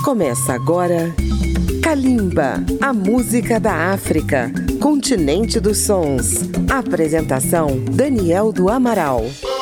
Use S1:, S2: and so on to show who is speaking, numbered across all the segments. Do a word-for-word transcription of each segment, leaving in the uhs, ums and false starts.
S1: Começa agora Kalimba, a música da África, continente dos sons. Apresentação Daniel do Amaral.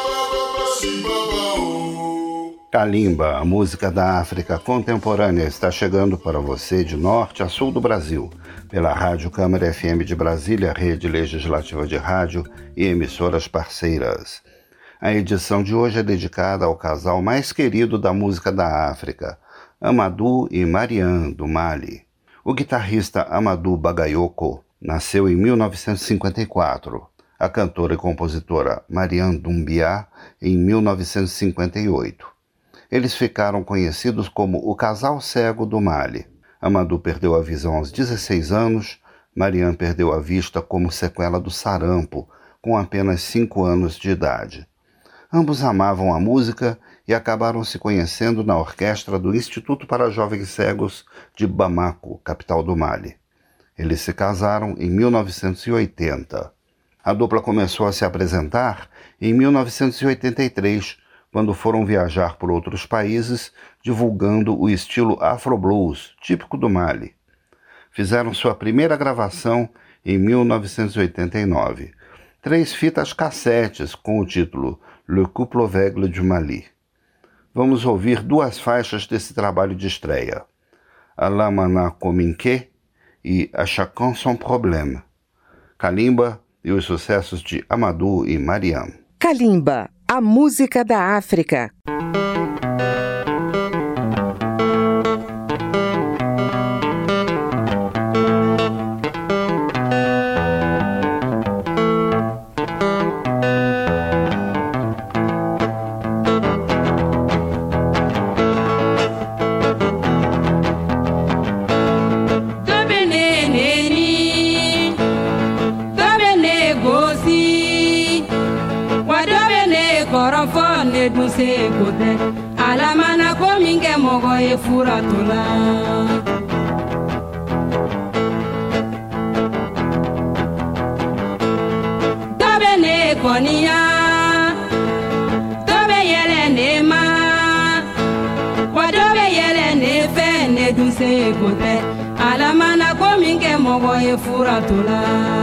S2: Kalimba, a música da África contemporânea, está chegando para você de norte a sul do Brasil, pela Rádio Câmara F M de Brasília, rede legislativa de rádio e emissoras parceiras. A edição de hoje é dedicada ao casal mais querido da música da África, Amadou e Mariam, do Mali. O guitarrista Amadou Bagayoko nasceu em mil novecentos e cinquenta e quatro, a cantora e compositora Mariam Doumbia em mil novecentos e cinquenta e oito. Eles ficaram conhecidos como o casal cego do Mali. Amadou perdeu a visão aos dezesseis anos, Mariam perdeu a vista como sequela do sarampo, com apenas cinco anos de idade. Ambos amavam a música e acabaram se conhecendo na orquestra do Instituto para Jovens Cegos de Bamako, capital do Mali. Eles se casaram em mil novecentos e oitenta. A dupla começou a se apresentar em mil novecentos e oitenta e três, quando foram viajar por outros países, divulgando o estilo Afro-Blues, típico do Mali. Fizeram sua primeira gravação em mil novecentos e oitenta e nove. Três fitas cassetes com o título Le Couple Aveugle du Mali. Vamos ouvir duas faixas desse trabalho de estreia, A la Mana Kominke e A Chacun son Problème. Kalimba e os sucessos de Amadou e Mariam.
S1: Kalimba, a música da África.
S3: Alamana kominge mogo e furatula Tobe ne konia Tobe yele ne ma Wadobe yele ne fe ne duse kote Alamana kominge mogo e furatula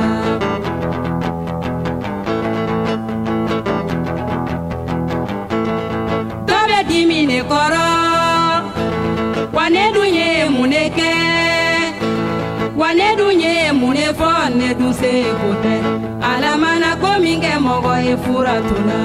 S3: Dimine koro wane dunye muneke wane dunye munefo ne duse kote alamana kominge mogo e furatula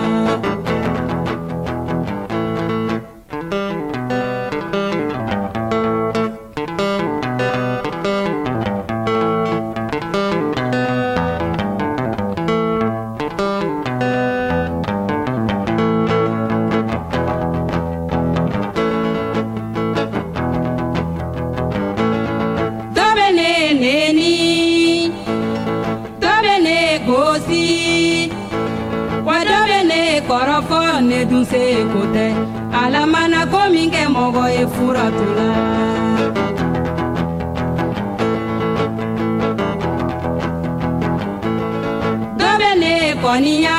S3: ne duse kote alamana kominge mogo e furatula Dobe ne konia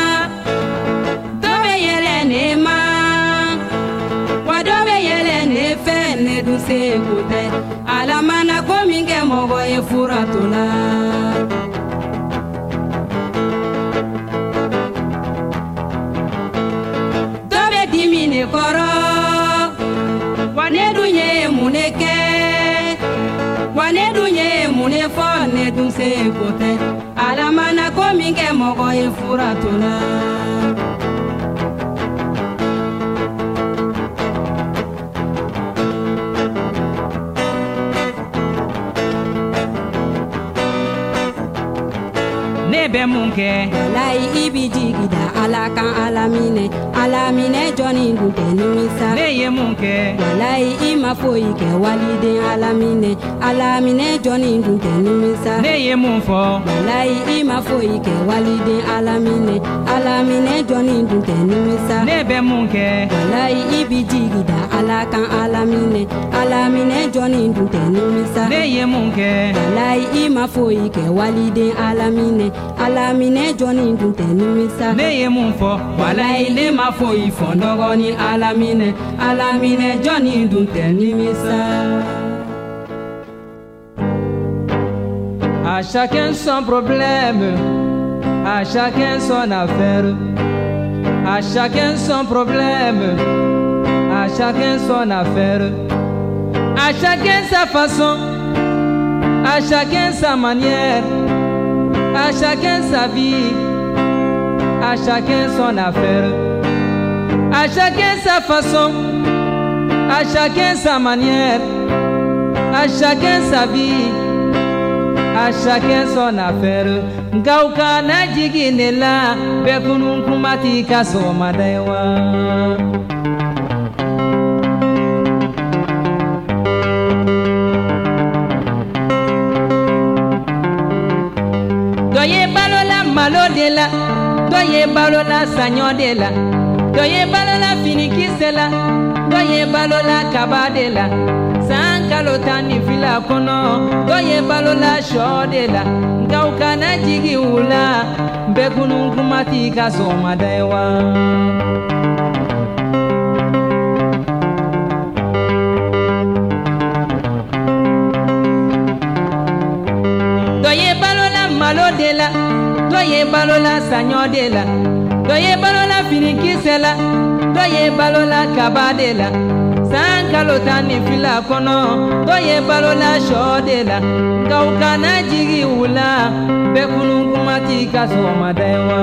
S3: Dobe yele ne ma Wadobe yele ne fe ne duse kote alamana kominge mogo e furatula Dimine koro wane dunye muneke wane dunye munefo ne dunse kote alamana kominge mogo e furatula Nebe munke Walai ibi jigida alakan alamine Alamine joni dute nimisa Neye munke Walai ima foike walide alamine Alamine joni dute nimisa Neye munfo Walai ima foike walide alamine Alamine joni dute nimisa Nebe munke Walai ibi jigida alakan alamine Alamine joni dute nimisa Neye munke Walai ima foike walide alamine Alamine joni dute nimisa Neye ye mun fɔ walayi ne ma foyi fɔ dɔgɔni alaminɛ alaminɛ jɔnni dun tɛ nimisa. À chacun son problème, à chacun son affaire, à chacun son problème, à chacun son affaire, à chacun sa façon, à chacun sa manière, à chacun sa vie, à chacun son affaire, à chacun sa façon, à chacun sa manière, à chacun sa vie, à chacun son affaire. Ngauka na jigi ne la bekunu kumati kaso madewa. Doye balola malo de la, doye balola sanyo de la, doye balola finikise la, doye balola kaba de la. Sankalo tani fila kono, doye balola sho de la. Ngauka na jigi ula, bekunu kumati kaso madewa. Doye balola malo de la, doye balola sanyo de la, doye balola finikise la, doye balola kaba de la. Sankalo tani fila kono, doye balola sho de la. Ngauka na jigi ula, bekunu kumati kaso madewa.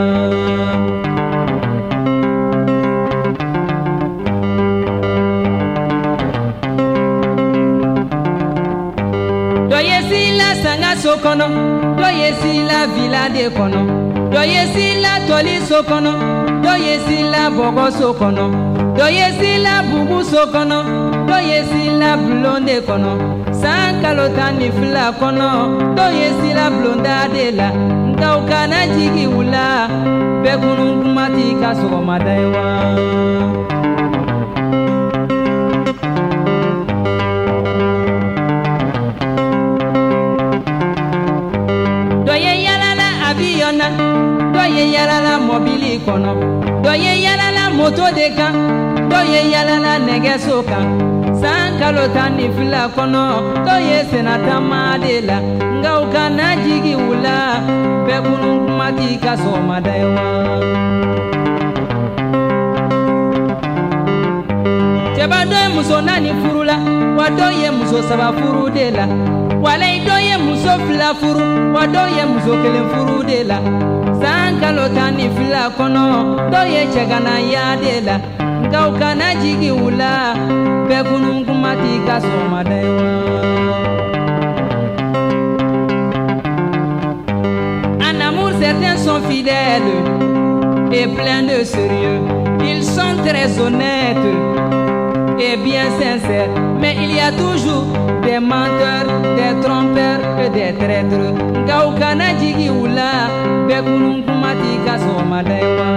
S3: Doye sila sanga so kono, doye sila villa de kono, doye sila toli so kono, doye sila bogo so kono, doye sila bubu so kono, doye sila blonde kono. Sankalo tani fila kono, doye sila blonda de la. Ngauka na jigi ula, bekunu kumati kaso madewa. Doye yalala aviona, doye yalala mobili kono, doye yalala moto de kan, doye yalala negeso kan. Sankalo tani fila kono, doye senata madela. Ngauka na jigi ula, bekunu kumati kaso madewa. Cheba doye muso nani furula, wa doye muso saba furu de la. Wale doye muso fila furu, wa doye muso kelen furu de la. Sankalo tani fila kono, doye chegana ya de la. Ngauka na jigi ula, bekunu kumati kaso madewa. En amour certains sont fidèles et pleins de sérieux. Ils sont très honnêtes et bien sincères. Mais il y a toujours des menteurs, des trompeurs et des traîtres. Ngauka na jigi ula, bekunu kumati kaso madewa.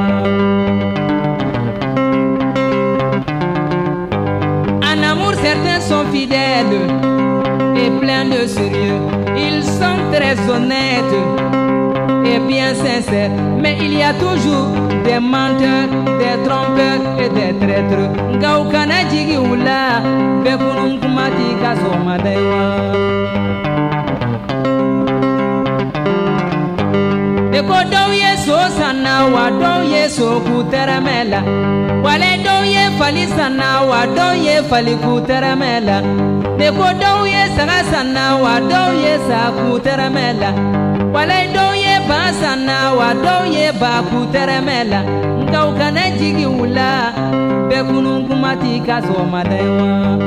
S3: Certains sont fidèles et pleins de sérieux. Ils sont très honnêtes et bien sincères. Mais il y a toujours des menteurs, des trompeurs et des traîtres. Ngauka na jigi ula, bekunu kumati kaso madewa. Eko doye so sana wa doye so kuteramela. Wale doye fali sana wa doye fali kuteramela. Eko doye saga sana wa doye sa kuteramela. Wale doye ba sana wa doye ba kuteramela. Ngauka na jigi ula, bekunu kumati kaso madewa.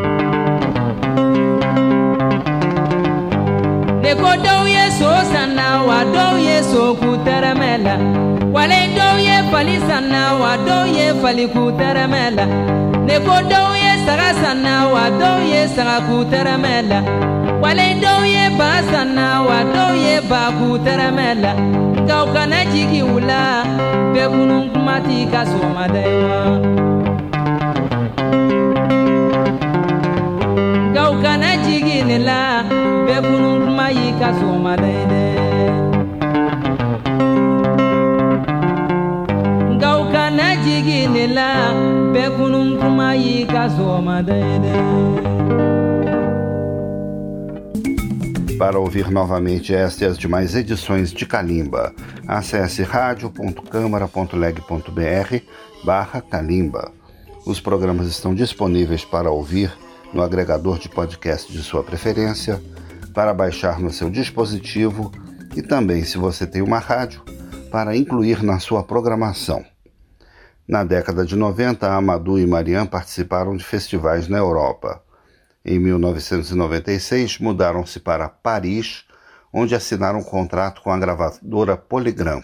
S3: Eko doye so sana wa doye so kuteramela. Wale doye fali sana wa doye fali kuteramela. Eko doye saga sana wa doye saga kuteramela. Wale doye ba sana wa doye ba kuteramela. Ngauka na jigi ula, bekunu kumati kaso madewa. Ngauka na jigi nela, bekunu kumayi kaso madewa.
S2: Para ouvir novamente esta e as demais edições de Calimba, acesse radio ponto câmara ponto leg ponto br barra Calimba. Os programas estão disponíveis para ouvir no agregador de podcast de sua preferência, para baixar no seu dispositivo e também, se você tem uma rádio, para incluir na sua programação. Na década de noventa, Amadou e Mariam participaram de festivais na Europa. Em mil novecentos e noventa e seis, mudaram-se para Paris, onde assinaram um contrato com a gravadora Polygram.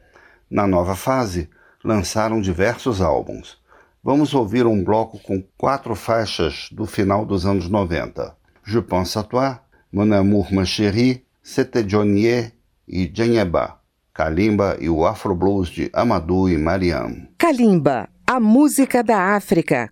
S2: Na nova fase, lançaram diversos álbuns. Vamos ouvir um bloco com quatro faixas do final dos anos noventa. Je pense à toi, Mon amour ma chérie, C'était Johnny e Djeneba. Calimba e o Afro Blues de Amadou e Mariam.
S1: Calimba, a música da África.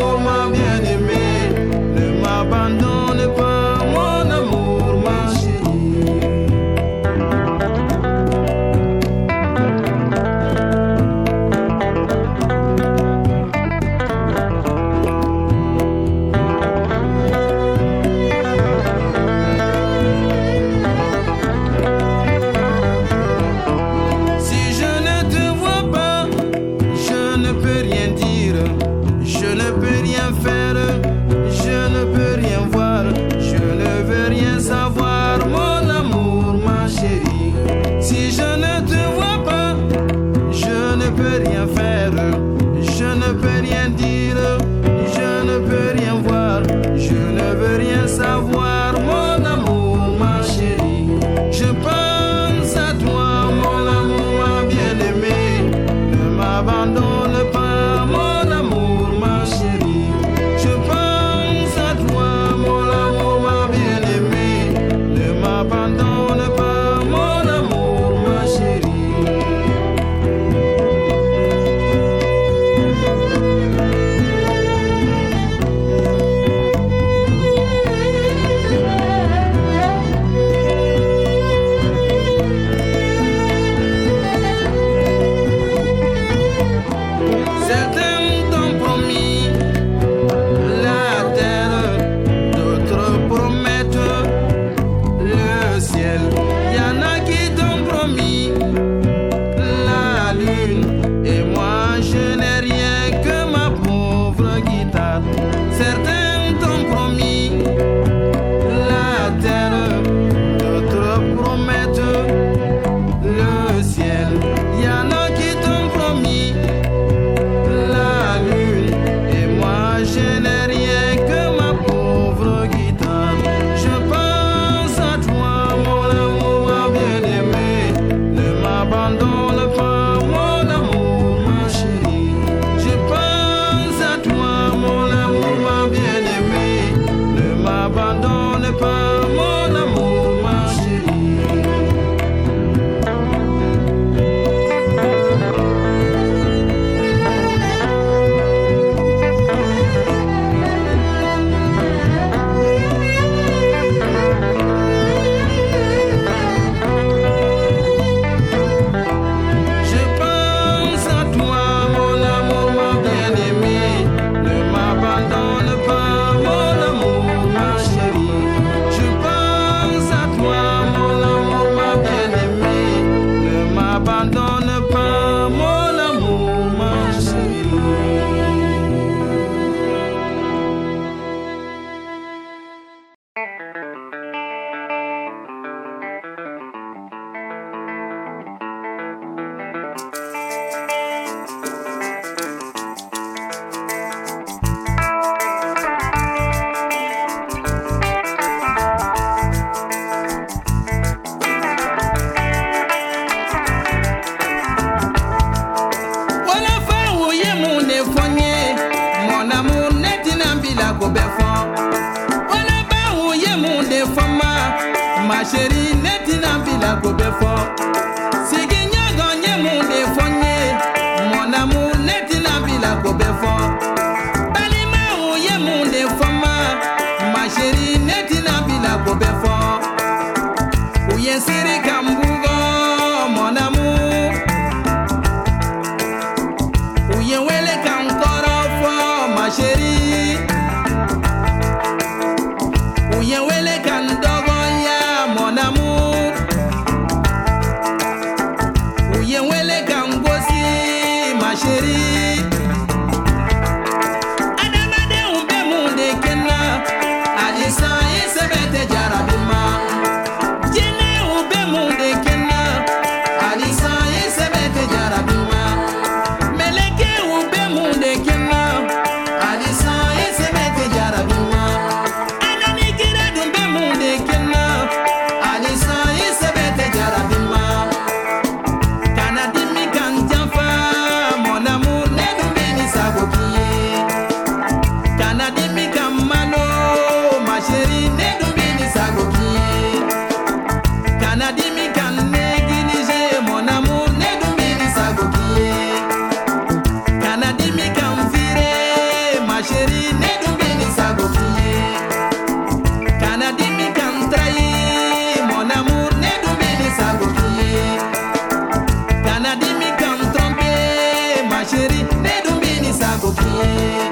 S4: Abandonne pas mon amour, ma chérie. ma chérie netina bila ko befo sigi nyago nyemu de fonye mon amour netina bila ko befo balima o yemu de foma ma chérie netina bila ko befo o yensere kambugo mon amour o yenwele kankoro fo ma chérie o yenwele kandogo mon amour, ouye wele kangosi, ma chérie. Adamade ube munde kena, alisa isebete jarabima. Jene ube munde kena, alisa isebete jarabima. Meleke ube munde kena, alisa isebete jarabima. Anani kira dumbe munde kena. Alisa isebete jarabima. Kanadimi kanjafa, mon amour ne dumbini sagokiye. Kanadimi kamano, ma chérie ne dumbini sagokiye. Kanadimi kan néglige, mon amour ne dumbini sagokiye. Kanadimi kan vire, ma chérie ne dumbini sagokiye. Kanadimi kan trahir, mon amour ne dumbini sagokiye. Kanadimi kan tromper, ma chérie ne dumbini sagokiye.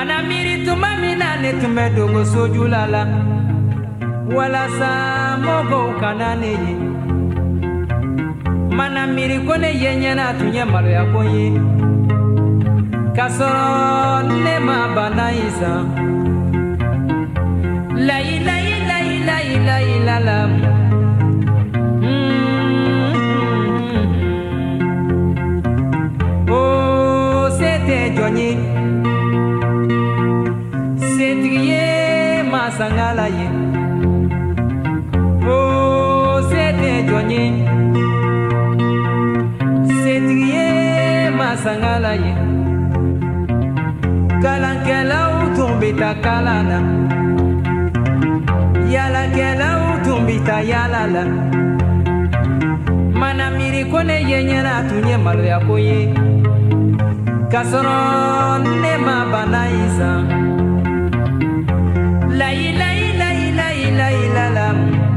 S4: Mana miri tuma mina ne tume dogo sojulala wala sa mogo kanane ye Mana miri kone yenye na tunye malo ya konye Kasoro ne ma bana isa La ila ila ila ila ila la Oh c'était Johnny C'est ma sangala ye Oh c'était Johnny C'est ma sangala ye Kalankela utumbita kalana Yala kela utumbita yalala Mana miri kone yenye na tunye malo ya koye Kasoro ne ma bana isa La ila ila ila ila ila la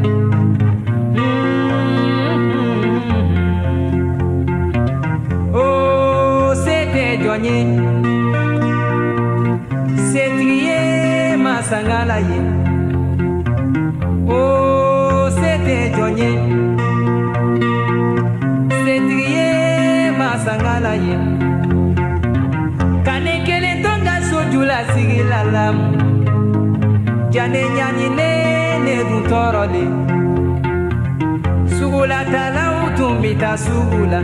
S4: Oh c'était Johnny C'est trié ma sangala ye Oh c'était Johnny C'est trié ma sangala ye Kane kele tonga sojula sigi la lam Jane nyani ne ne dun torole Sugula tala utumbita sugula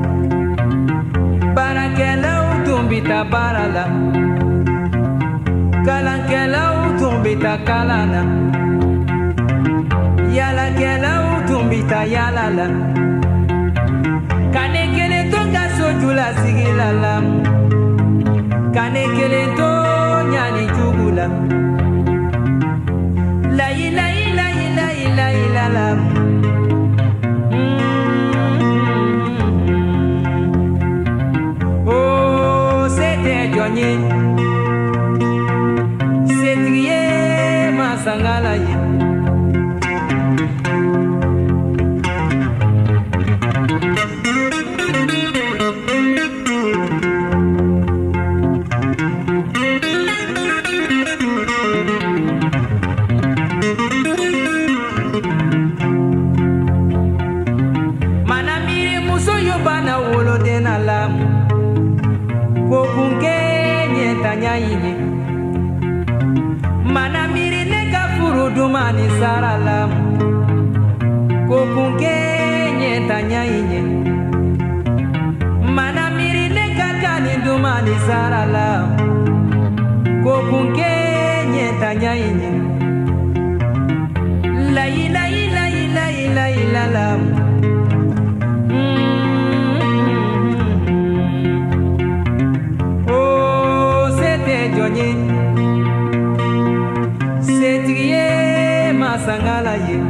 S4: Barakela utumbita barala Kalankela utumbita kalana Yala kela utumbita yalala Kane kele tonga sojula sigi la lam Kane kele to nyani jugula La ila ila ila ila ila la Oh c'était Johnny C'est trié ma sangala ye Mana miri neka furu dumani saralam Kokunke nyeta nyainye Mana miri neka kani dumani saralam Kokunke nyeta nyainye La ila ila ila ila ila lam Oh c'était Johnny C'est trié ma sangala ye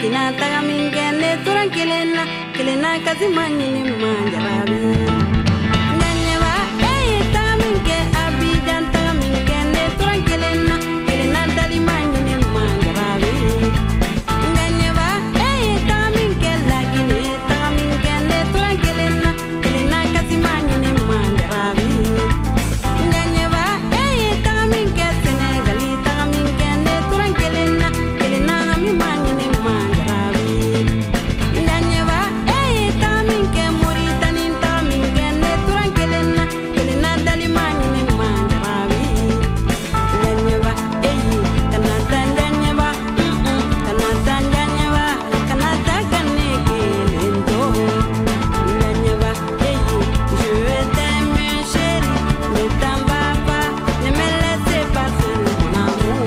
S3: kina taga min kɛ ne tora kelen na kelen na kasi ma ɲini ma jarabi nka ɲɛba e ye taga min kɛ Abidjan taga min kɛ ne tora kelen na kelen na dali ma ɲini ma jarabi nka ɲɛba e ye taga min kɛ Lagine taga min kɛ ne tora kelen na kelen na kasi ma ɲini ma jarabi nka ɲɛba e ye taga min kɛ Senegali taga min kɛ ne tora kelen na kelen na hami ma ɲini ma jarabi nka ɲɛba e ye taga min kɛ Moritani taga min kɛ ne tora kelen na kelen na dali ma ɲini ma jarabi nka ɲɛba e ye kana taa nka ɲɛba kana taa nka ɲɛba kana taa ka ne kelen to nka ɲɛba e ye je t'aime chérie ne t'en vas pas ne me laisse pas seul mon amour.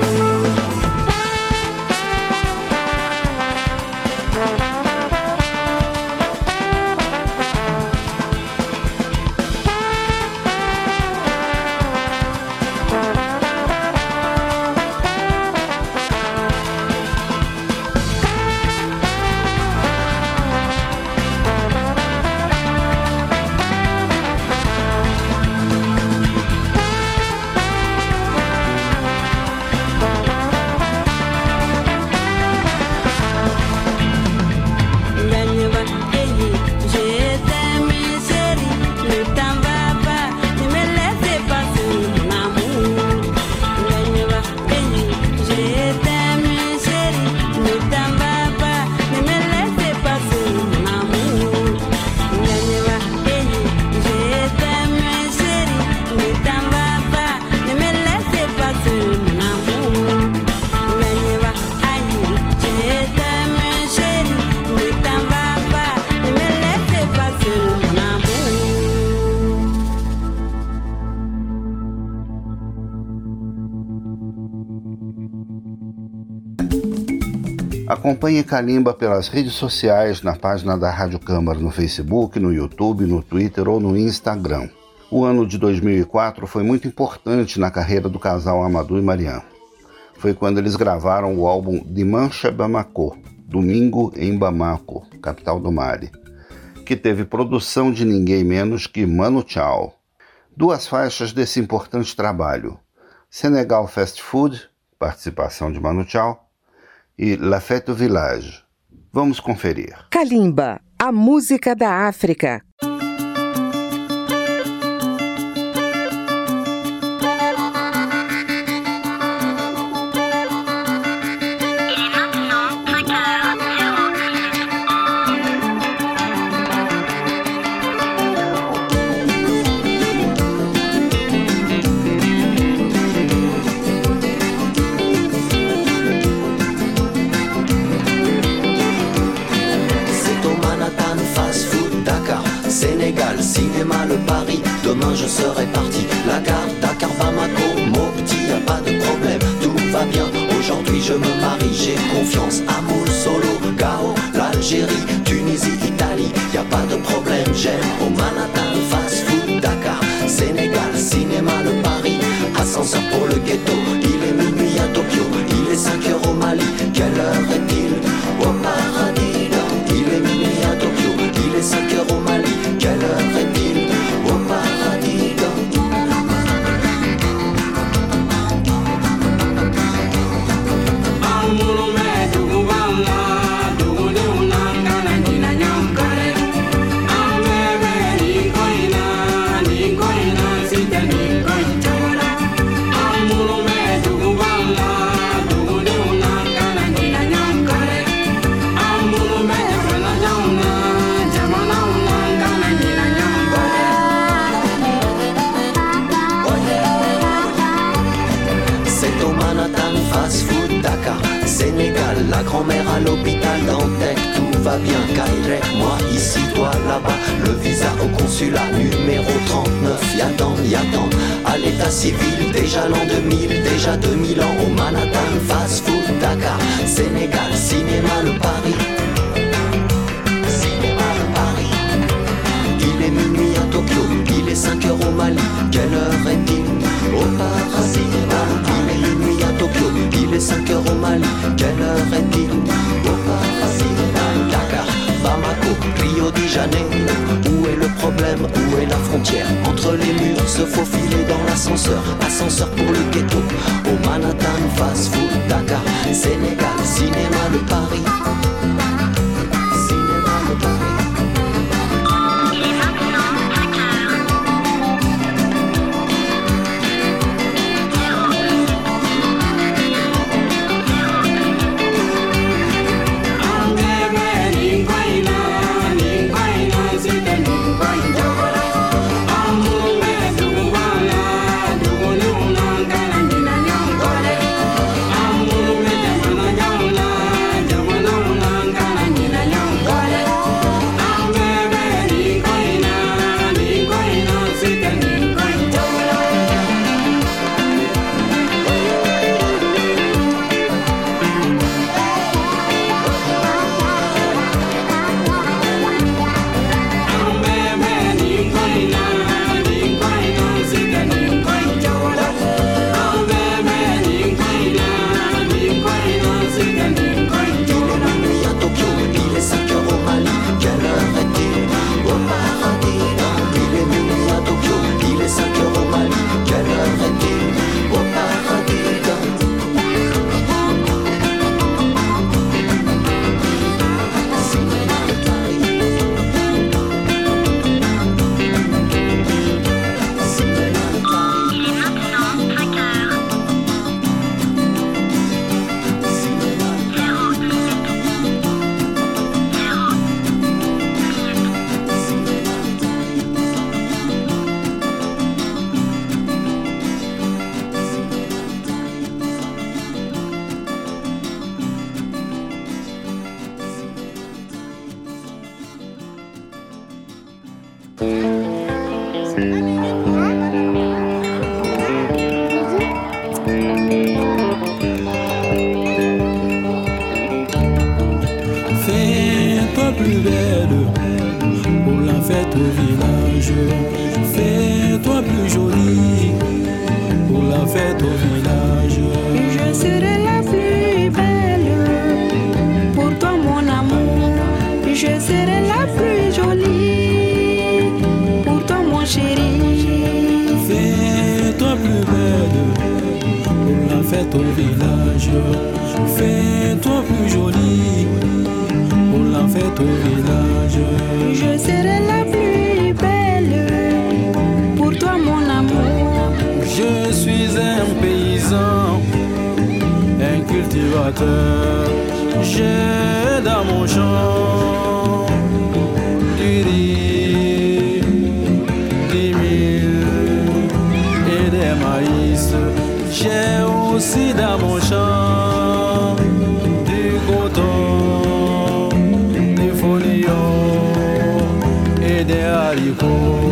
S3: Nganeba, hey, je t'aime chérie, ne t'en vas pas, ne me laisse pas seul mon amour. Nganeba, hey, je t'aime chérie, ne t'en vas pas, ne me laisse pas seul mon amour. Nganeba, hey, je t'aime chérie, ne t'en vas pas, ne me laisse pas seul mon amour. Nganeba, aïe, je t'aime chérie, ne t'en vas pas, ne me laisse pas seul mon amour.
S2: Acompanhe Kalimba pelas redes sociais, na página da Rádio Câmara no Facebook, no YouTube, no Twitter ou no Instagram. O ano de dois mil e quatro foi muito importante na carreira do casal Amadou e Mariam. Foi quando eles gravaram o álbum Dimanche Bamako, Domingo em Bamako, capital do Mali, que teve produção de ninguém menos que Manu Chao. Duas faixas desse importante trabalho: Senegal Fast Food, participação de Manu Chao, e La Fête du Village. Vamos conferir.
S1: Kalimba, a música da África.
S5: Sénégal, cinéma, le Paris, demain je serai parti. La gare, Dakar, Bamako, Mopti, y a pas de problème, tout va bien. Aujourd'hui je me marie, j'ai confiance. Amour, Solo, Gao, l'Algérie, Tunisie, Italie, y a pas de problème. J'aime au Manhattan, fast food, Dakar, Sénégal, cinéma, le Paris. Ascenseur pour le ghetto, il est minuit à Tokyo, il est cinq heures au Mali. Quelle heure est-il au paradis? Il est minuit à Tokyo, il est cinq heures au Mali. Quelle heure est-il au paradis? Sénégal, la grand-mère à l'hôpital Dantec, tout va bien, Caire, moi ici, toi là-bas, le visa au consulat numéro trente-neuf, y'attend, y'attend, à l'état civil, déjà l'an deux mille, déjà deux mille ans, au Manhattan, fast food, Dakar, Sénégal, cinéma, le Paris, cinéma, le Paris, il est minuit à Tokyo, il est cinq heures au Mali, quelle heure est-il au paradis? Il est minuit à Tokyo, il est cinq heures au Mali, quelle heure est-il au paradis? problème, où est la frontière entre les murs, se faufiler dans l'ascenseur, ascenseur pour le ghetto, au Manhattan, fast food, Dakar, Sénégal, cinéma de Paris. Cinéma de Paris.
S6: Fais-toi plus belle pour la fête au village. Fais-toi plus jolie pour la fête au village.
S3: Je serai la plus belle pour toi mon amour. Je serai la plus jolie pour toi mon chéri.
S6: Fais-toi plus belle pour la fête au village. Fais-toi plus jolie pour la fête au village.
S3: Je serai la plus belle pour toi mon amour.
S6: Je suis un paysan, un cultivateur. J'ai dans mon champ du riz, des mille et des maïs. J'ai aussi dans mon champ du coton, des folions et des haricots.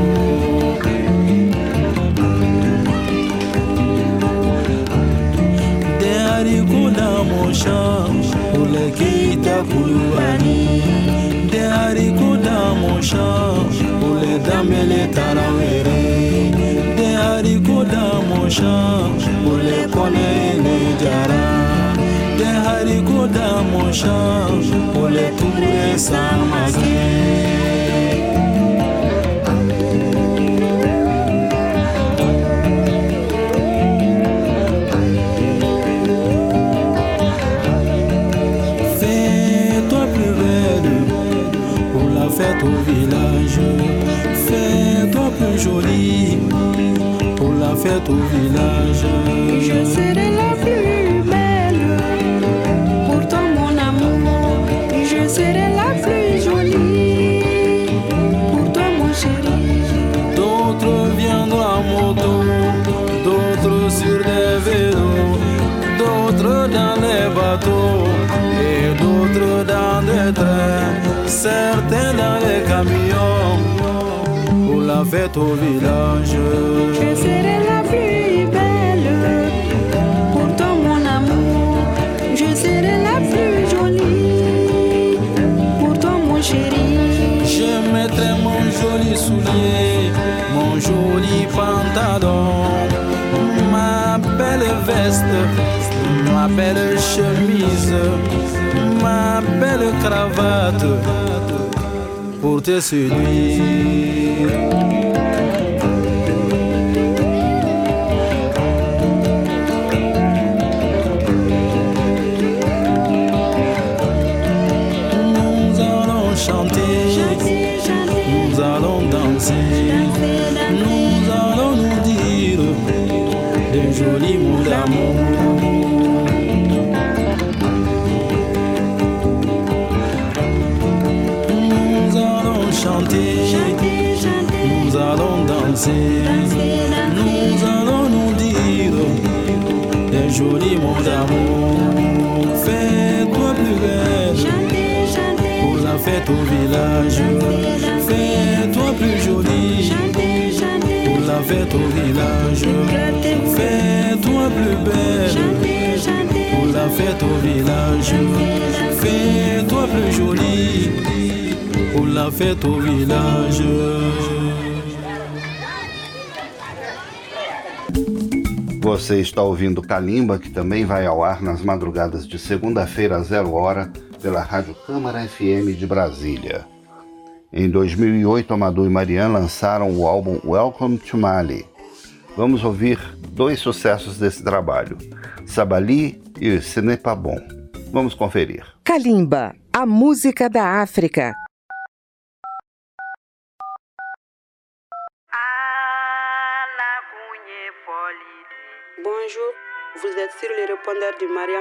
S6: Des haricots dans mon champ pour les Keita Koulouani. Des haricots dans mon champ pour les dames et les tarawérés. Des haricots dans mon champ pour les Kone et les Djara. Des haricots dans mon champ pour les Touré Samake. Fête au village, fais-toi plus jolie pour la fête au village.
S3: Je serai la plus belle pour toi mon amour. Je serai la plus jolie pour toi mon chéri.
S6: D'autres viendront à moto, d'autres sur des vélos, d'autres dans les bateaux et d'autres dans des trains. Certains dans les camions pour la fête au village.
S3: Je serai la plus belle pour toi mon amour. Je serai la plus jolie pour toi mon chéri.
S6: Je mettrai mon joli soulier, mon joli pantalon, ma belle veste, ma belle chemise, ma belle cravate pour te séduire. Nous allons chanter, nous allons danser, nous allons nous dire de jolis mots d'amour. Nous allons chanter, nous allons danser, nous allons nous dire des jolis mots d'amour. Fais-toi plus belle pour la fête au village. Fais-toi plus jolie pour la fête au village. Fais-toi plus belle pour la fête au village. Fais-toi plus jolie pour la fête au village.
S2: Você está ouvindo Kalimba, que também vai ao ar nas madrugadas de segunda-feira às zero hora pela Rádio Câmara F M de Brasília. Em dois mil e oito, Amadou e Marianne lançaram o álbum Welcome to Mali. Vamos ouvir dois sucessos desse trabalho, Sabali e Ce n'est pas bon. Vamos conferir.
S1: Kalimba, a música da África.
S7: Bonjour, vous êtes sur le répondeur de Mariam.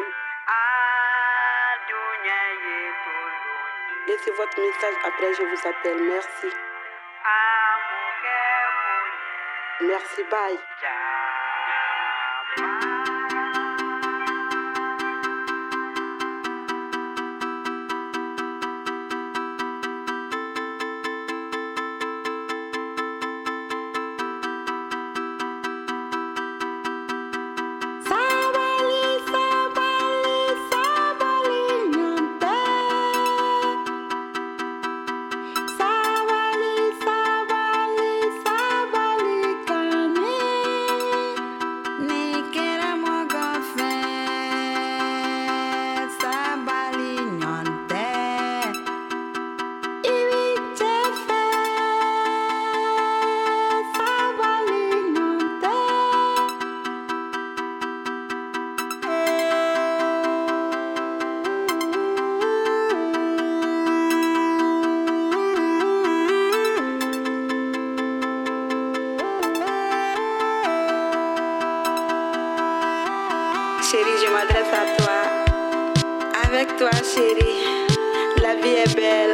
S7: Laissez votre message après, je vous appelle. Merci. Merci, bye. Chérie, je m'adresse à toi. Avec toi, chérie, la vie est belle.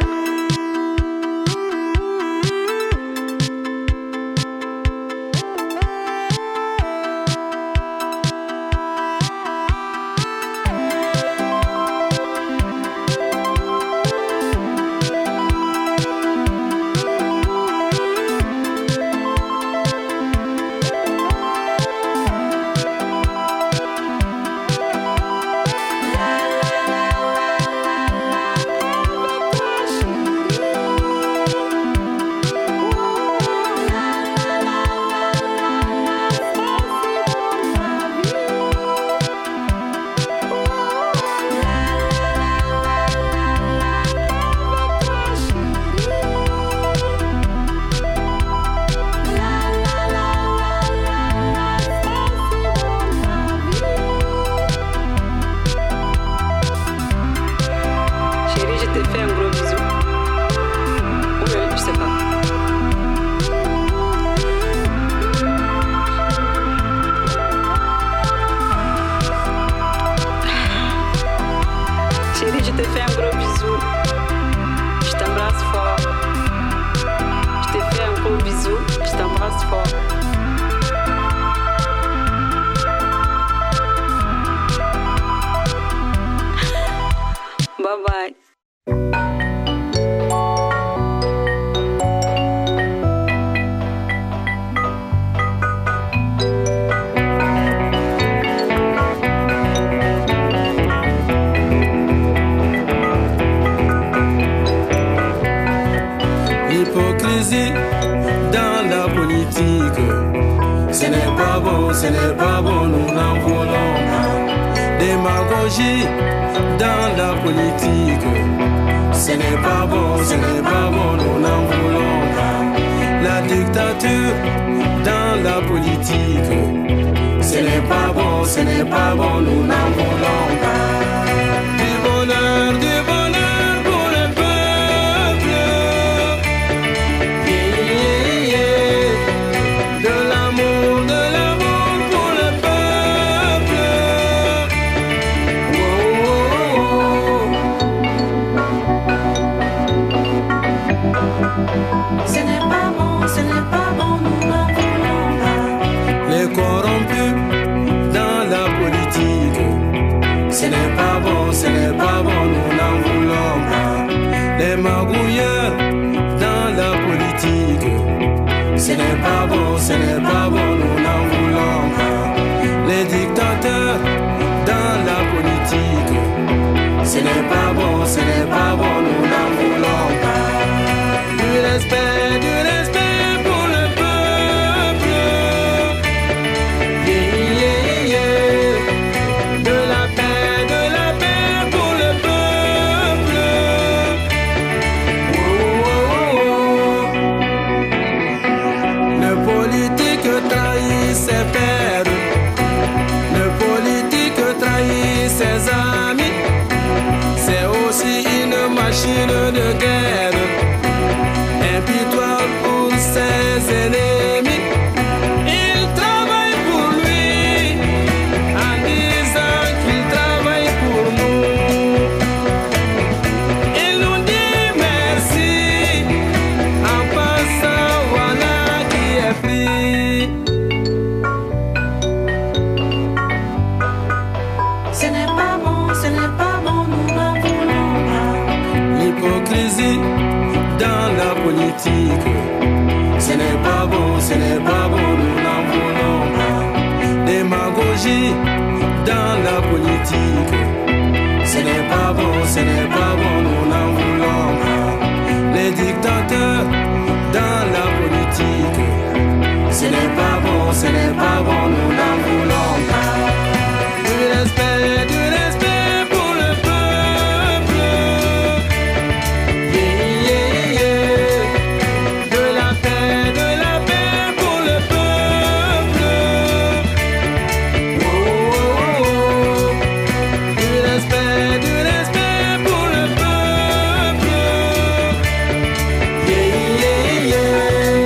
S6: Dans la politique, ce n'est pas bon, ce n'est pas bon, nous n'en voulons pas. Démagogie dans la politique, ce n'est pas bon, ce n'est pas bon, nous n'en voulons pas. La dictature dans la politique. Ce n'est pas bon, ce n'est pas bon, nous n'en voulons pas. Du bonheur, du bonheur pour le peuple. Yeah, yeah. De l'amour, de l'amour pour le peuple. Oh, oh,
S8: oh. Ce n'est pas bon, ce n'est pas bon, nous n'en voulons pas.
S6: Les corrompus dans la politique. Ce n'est pas bon, ce n'est pas bon, nous n'en voulons pas. Les magouilleurs dans la politique. Ce n'est pas bon, ce n'est pas bon, nous n'en voulons pas. Les dictateurs dans la politique. Ce n'est pas bon, ce n'est pas bon, nous n'en voulons pas. Du respect, du respect pour le peuple. Yeah, yeah, yeah. De la paix, de la paix pour le peuple. Oh, oh, oh. Le politique trahit ses pères. Le politique trahit ses amis. C'est aussi une machine de guerre. Impitoyable pour ses ennemis. Il travaille pour lui en disant qu'il travaille pour nous. Il nous dit merci en passant, voilà qui est pris.
S8: Ce n'est pas bon, ce n'est pas bon, nous n'en voulons pas.
S6: L'hypocrisie dans la politique. Ce n'est pas bon, ce n'est pas bon, nous n'en voulons pas. Démagogie dans la politique. Ce n'est pas bon, ce n'est pas bon, nous n'en voulons pas. Les dictateurs dans la politique. Ce n'est pas bon, ce n'est pas bon, nous n'en voulons pas. Du respect, du respect pour le peuple. Yeah, yeah, yeah. De la paix, de la paix pour le peuple. Oh, oh, oh. Du respect, du respect pour le peuple. Yeah, yeah, yeah.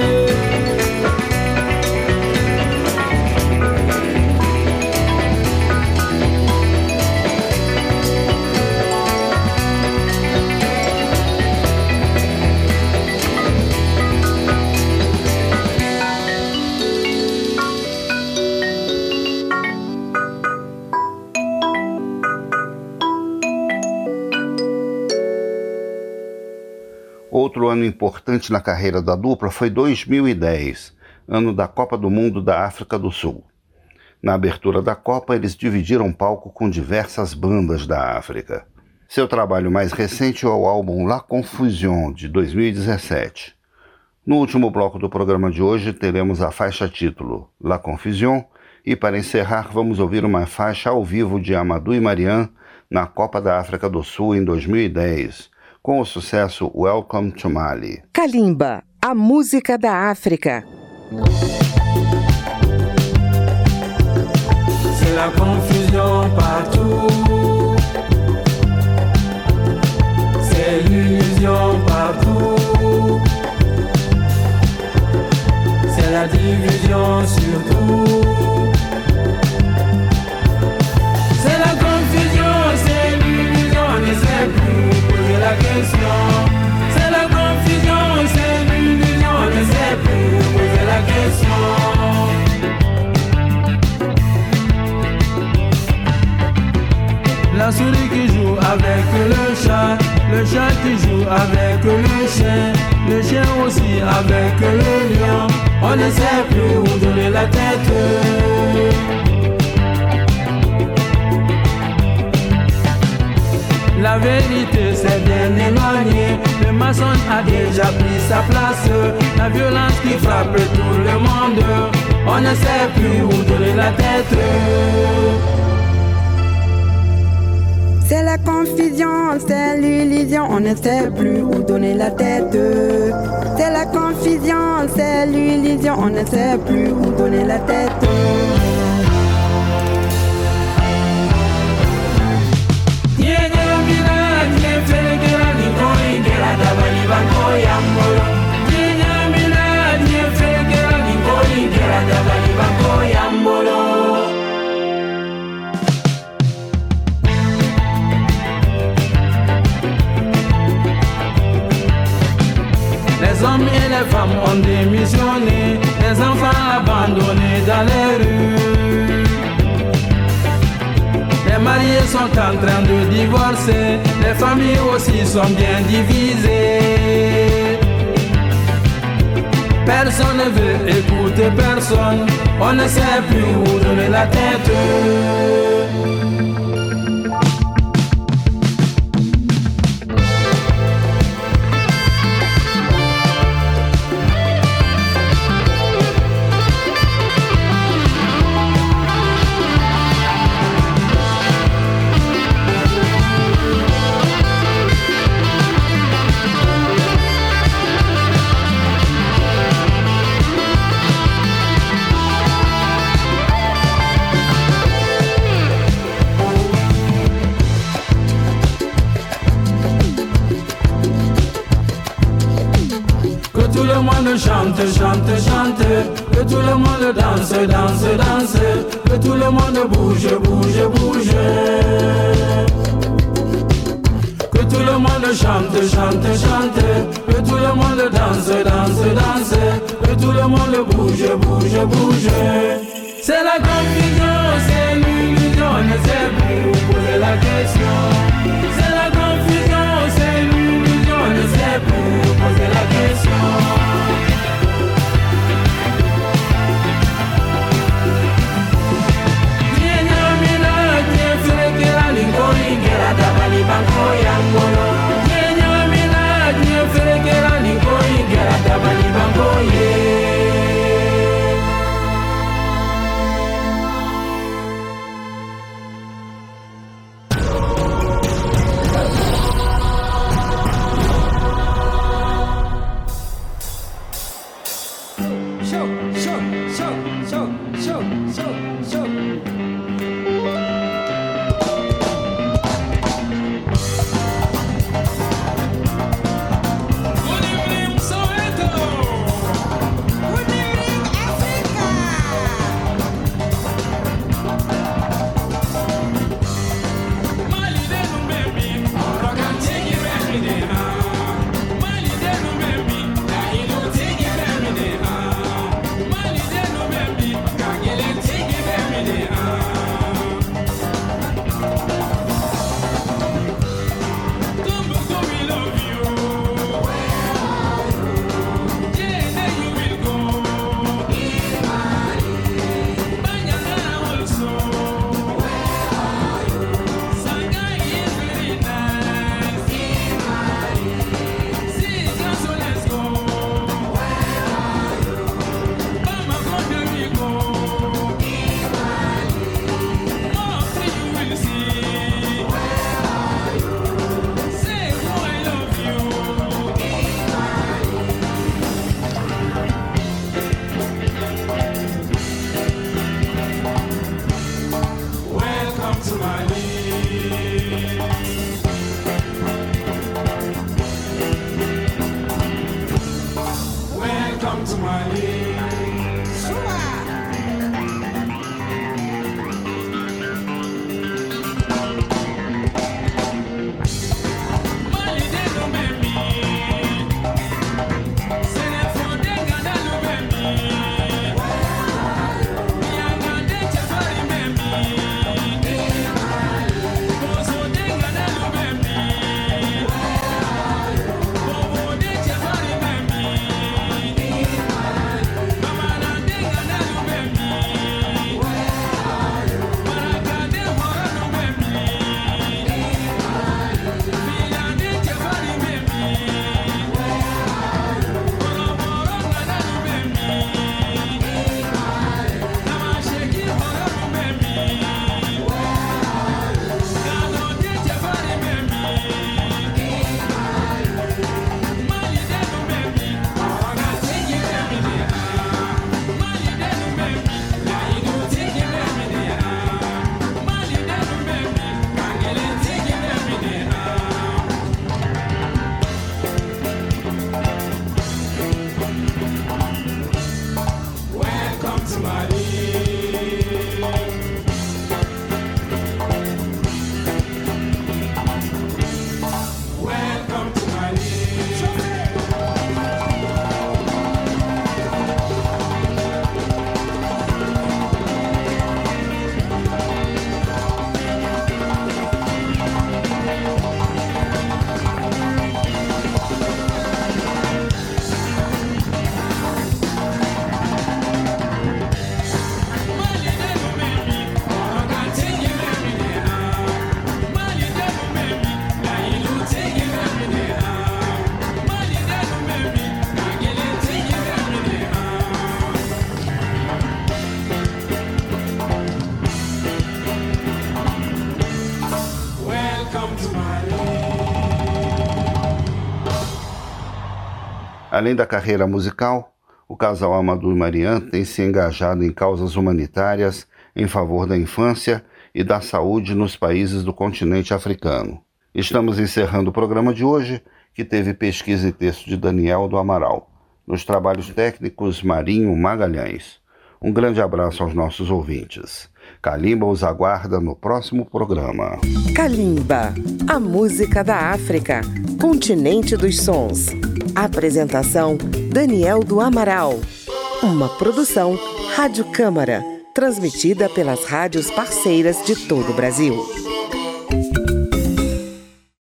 S2: Outro ano importante na carreira da dupla foi dois mil e dez, ano da Copa do Mundo da África do Sul. Na abertura da Copa, eles dividiram palco com diversas bandas da África. Seu trabalho mais recente é o álbum La Confusion, de dois mil e dezessete. No último bloco do programa de hoje, teremos a faixa título La Confusion, e para encerrar, vamos ouvir uma faixa ao vivo de Amadou e Mariam na Copa da África do Sul em dois mil e dez, com o sucesso Welcome to Mali.
S1: Kalimba, a música da África.
S6: C'est la confusion partout. C'est l'illusion partout. C'est la division surtout. C'est la confusion, c'est l'illusion, on ne sait plus poser la question. C'est la confusion, c'est l'illusion, on ne sait plus poser la question. La souris qui joue avec le chat, le chat qui joue avec le chien, le chien aussi avec le lion. On ne sait plus où donner la tête. La vérité s'est bien éloignée. Le maçon a déjà pris sa place. La violence qui frappe tout le monde. On ne sait plus où donner la tête.
S3: C'est la confusion, c'est l'illusion, on ne sait plus où donner la tête. C'est la confusion, c'est l'illusion, on ne sait plus où donner la tête.
S4: Les hommes et les femmes ont démissionné, les enfants abandonnés dans les rues. Les mariés sont en train de divorcer, les familles aussi sont bien divisées. Personne ne veut écouter personne, on ne sait plus où donner la tête. Tout le monde chante, chante, chante, que tout le monde danse, danse, danse, que tout le monde bouge, bouge, bouge. Que tout le monde chante, chante, chante, que tout le monde danse, danse, danse, que tout le monde bouge, bouge, bouge. C'est la confusion, c'est l'illusion, on ne sait plus où poser la question. C'est la confusion, c'est l'illusion, on ne sait plus où poser la question.
S2: Além da carreira musical, o casal Amadou e Marian tem se engajado em causas humanitárias em favor da infância e da saúde nos países do continente africano. Estamos encerrando o programa de hoje, que teve pesquisa e texto de Daniel do Amaral. Nos trabalhos técnicos, Marinho Magalhães. Um grande abraço aos nossos ouvintes. Kalimba os aguarda no próximo programa.
S1: Kalimba, a música da África, continente dos sons. Apresentação, Daniel do Amaral. Uma produção Rádio Câmara, transmitida pelas rádios parceiras de todo o Brasil.